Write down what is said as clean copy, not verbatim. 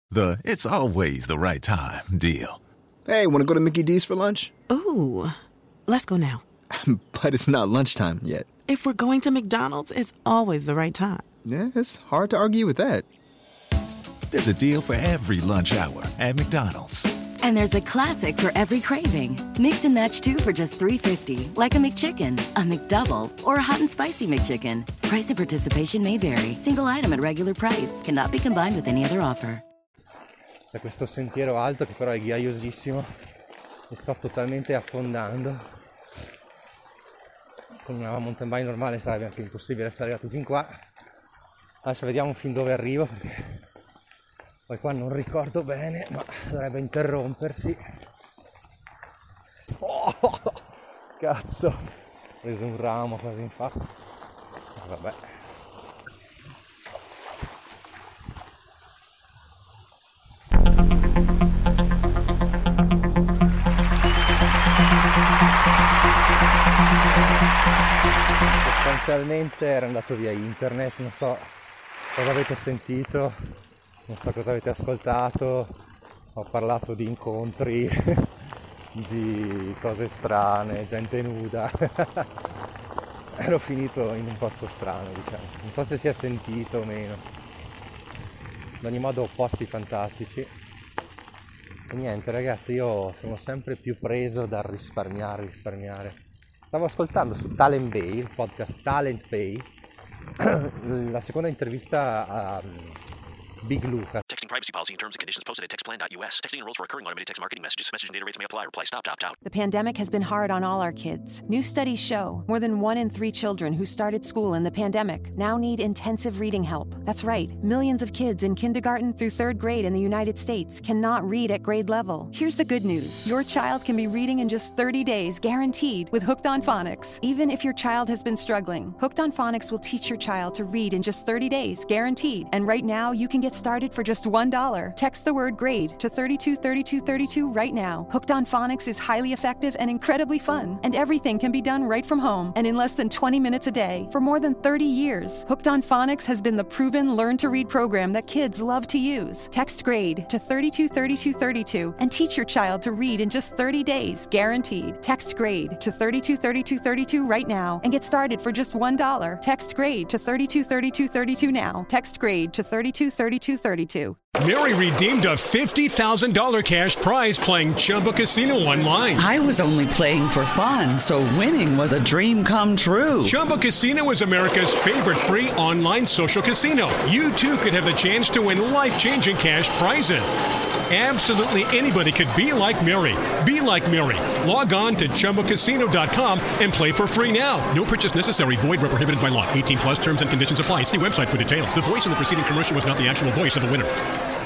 The "it's always the right time" deal. Hey, want to go to Mickey D's for lunch? Ooh, let's go now. But it's not lunchtime yet. If we're going to McDonald's, it's always the right time. Yeah, it's hard to argue with that. There's a deal for every lunch hour at McDonald's. And there's a classic for every craving. Mix and match 2 for just $3.50, like a McChicken, a McDouble, or a hot and spicy McChicken. Price and participation may vary. Single item at regular price. Cannot be combined with any other offer. C'è questo sentiero alto che però è ghiaiosissimo e sto totalmente affondando. Con una mountain bike normale sarebbe anche impossibile essere arrivati fin qua. Adesso vediamo fin dove arrivo, perché poi qua non ricordo bene, ma dovrebbe interrompersi. Oh, cazzo, ho preso un ramo quasi in faccia. Vabbè. Sostanzialmente era andato via internet, non so cosa avete sentito, non so cosa avete ascoltato, ho parlato di incontri, di cose strane, gente nuda, ero finito in un posto strano, diciamo, non so se si è sentito o meno, ad ogni modo posti fantastici. E niente ragazzi, io sono sempre più preso dal risparmiare. Stavo ascoltando su Talent Bay, il podcast Talent Bay, la seconda intervista a Big Luca. Texting privacy policy and terms and conditions posted at textplan.us. Texting enrolls for recurring automated text marketing messages. Message and data rates may apply. Reply stop to opt out. The pandemic has been hard on all our kids. New studies show more than 1 in 3 children who started school in the pandemic now need intensive reading help. That's right. Millions of kids in kindergarten through 3rd grade in the United States cannot read at grade level. Here's the good news. Your child can be reading in just 30 days, guaranteed, with Hooked on Phonics. Even if your child has been struggling, Hooked on Phonics will teach your child to read in just 30 days, guaranteed. And right now, you can get started for just $1. Text the word GRADE to 323232 right now. Hooked on Phonics is highly effective and incredibly fun, and everything can be done right from home and in less than 20 minutes a day for more than 30 years. Hooked on Phonics has been the proven learn-to-read program that kids love to use. Text GRADE to 323232 and teach your child to read in just 30 days, guaranteed. Text GRADE to 323232 right now and get started for just $1. Text GRADE to 323232 now. Text GRADE to 323232. Mary redeemed a $50,000 cash prize playing Chumba Casino online. I was only playing for fun, so winning was a dream come true. Chumba Casino is America's favorite free online social casino. You too could have the chance to win life-changing cash prizes. Absolutely anybody could be like Mary. Be like Mary. Log on to ChumbaCasino.com and play for free now. No purchase necessary. Void where prohibited by law. 18 plus terms and conditions apply. See website for details. The voice of the preceding commercial was not the actual voice of the winner.